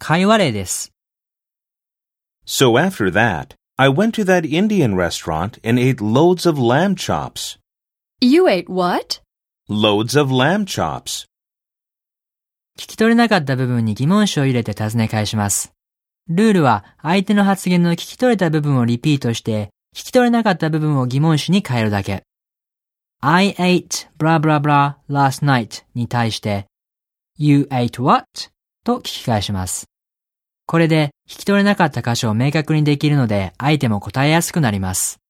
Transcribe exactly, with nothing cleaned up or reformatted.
会話例です。 So after that, I went to that Indian restaurant and ate loads of lamb chops. You ate what? Loads of lamb chops. 聞き取れなかった部分に疑問詞を入れて尋ね返します。ルールは相手の発言の聞き取れた部分をリピートして、聞き取れなかった部分を疑問詞に変えるだけ。I ate blah blah blah last night に対して、You ate what? と聞き返します。これで聞き取れなかった箇所を明確にできるので、相手も答えやすくなります。